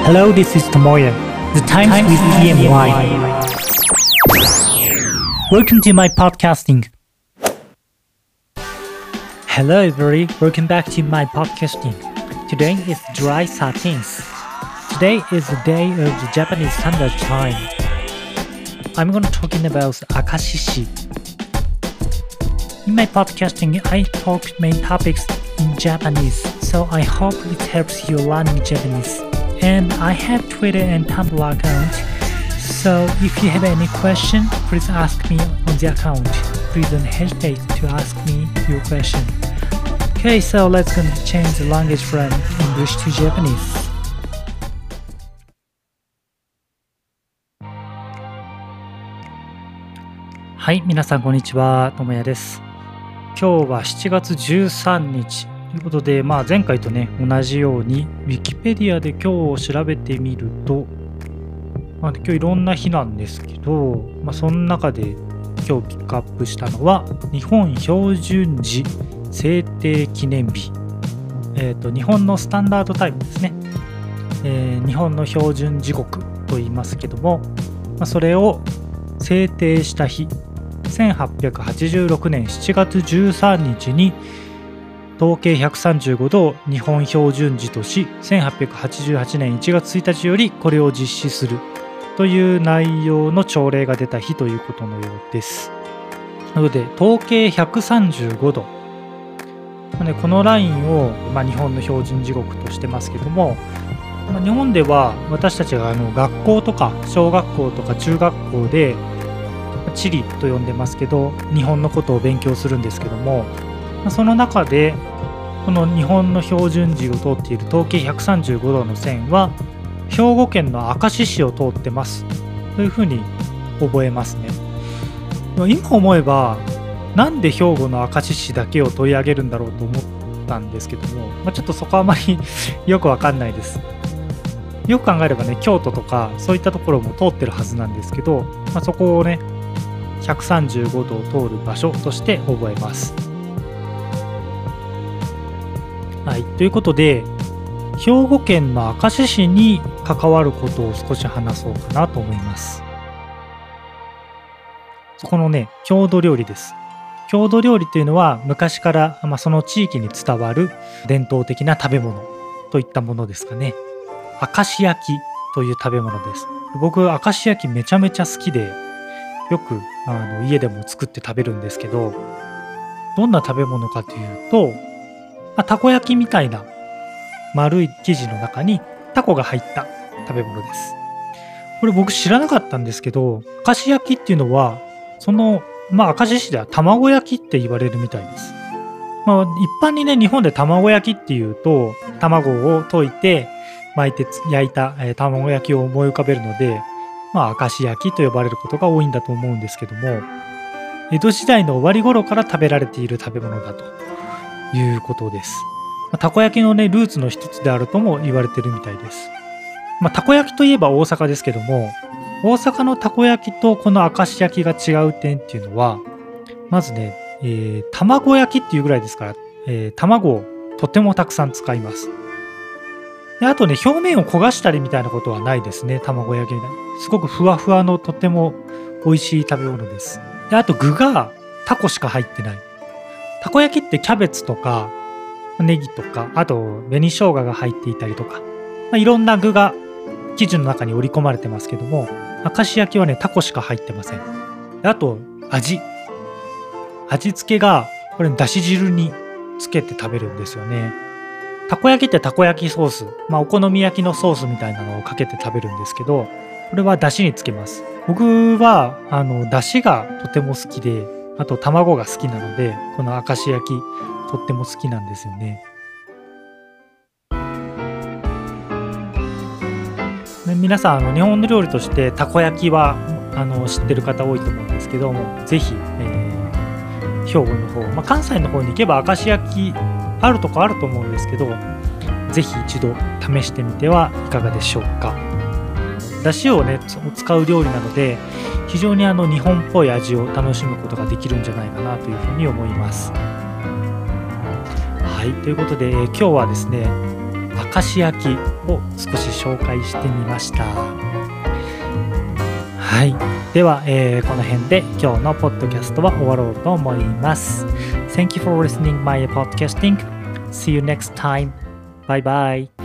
Hello, this is Tomoya. The Times with EMY. Welcome to my podcasting. Hello, everybody. Welcome back to my podcasting. Today is July 13th. Today is the day of the Japanese Standard Time. I'm going to talking about Akashishi. In my podcasting, I talk main topics in Japanese, so I hope it helps you learning Japanese. And I have Twitter and Tumblr account, so if you have any question, please ask me on the account. Please don't hesitate to ask me your question. Okay, so let's change the language from English to Japanese. はい、皆さんこんにちは、ともやです。今日は7月13日ということで、前回とね、同じように Wikipedia で今日を調べてみると、今日いろんな日なんですけど、その中で今日ピックアップしたのは日本標準時制定記念日、日本のスタンダードタイムですね、日本の標準時刻と言いますけども、それを制定した日、1886年7月13日に統計135度を日本標準時とし、1888年1月1日よりこれを実施するという内容の朝礼が出た日ということのようです。なので統計135度、このラインを、日本の標準時刻としてますけども、日本では私たちが学校とか小学校とか中学校で地理と呼んでますけど、日本のことを勉強するんですけども、その中でこの日本の標準時を通っている統計135度の線は兵庫県の明石市を通ってますというふうに覚えますね。今思えばなんで兵庫の明石市だけを取り上げるんだろうと思ったんですけども、ちょっとそこはあまりよくわかんないです。よく考えればね、京都とかそういったところも通ってるはずなんですけど、そこをね135度を通る場所として覚えます。はい、ということで兵庫県の明石市に関わることを少し話そうかなと思います。そこのね、郷土料理です。郷土料理というのは昔から、その地域に伝わる伝統的な食べ物といったものですかね。明石焼きという食べ物です。僕明石焼きめちゃめちゃ好きで、よく家でも作って食べるんですけど、どんな食べ物かというと、たこ焼きみたいな丸い生地の中にタコが入った食べ物です。これ僕知らなかったんですけど、明石焼きっていうのはその明石市では卵焼きって言われるみたいです。一般にね、日本で卵焼きっていうと卵を溶いて巻いて焼いた卵焼きを思い浮かべるので、明石焼きと呼ばれることが多いんだと思うんですけども、江戸時代の終わり頃から食べられている食べ物だということです。たこ焼きのね、ルーツの一つであるとも言われてるみたいです。たこ焼きといえば大阪ですけども、大阪のたこ焼きとこの明石焼きが違う点っていうのは、まずね、卵焼きっていうぐらいですから、卵をとてもたくさん使います。であとね、表面を焦がしたりみたいなことはないですね。卵焼きみたいなすごくふわふわのとても美味しい食べ物です。であと具がタコしか入ってない。たこ焼きってキャベツとかネギとか、あと紅生姜が入っていたりとか、いろんな具が生地の中に織り込まれてますけども、明石焼きはね、タコしか入ってません。であと味付けがこれだし汁につけて食べるんですよね。たこ焼きってたこ焼きソース、お好み焼きのソースみたいなのをかけて食べるんですけど、これはだしにつけます。僕はだしがとても好きで、あと卵が好きなので、この明石焼きとっても好きなんですよね。で皆さん日本の料理としてたこ焼きは知ってる方多いと思うんですけども、ぜひ、兵庫の方、関西の方に行けば明石焼きあるとこあると思うんですけど、ぜひ一度試してみてはいかがでしょうか。だしをね使う料理なので、非常に日本っぽい味を楽しむことができるんじゃないかなというふうに思います。はい、ということで、今日はですね、 明石焼きを少し紹介してみました。はい、では、この辺で今日のポッドキャストは終わろうと思います。Thank you for listening my podcasting. See you next time. Bye bye.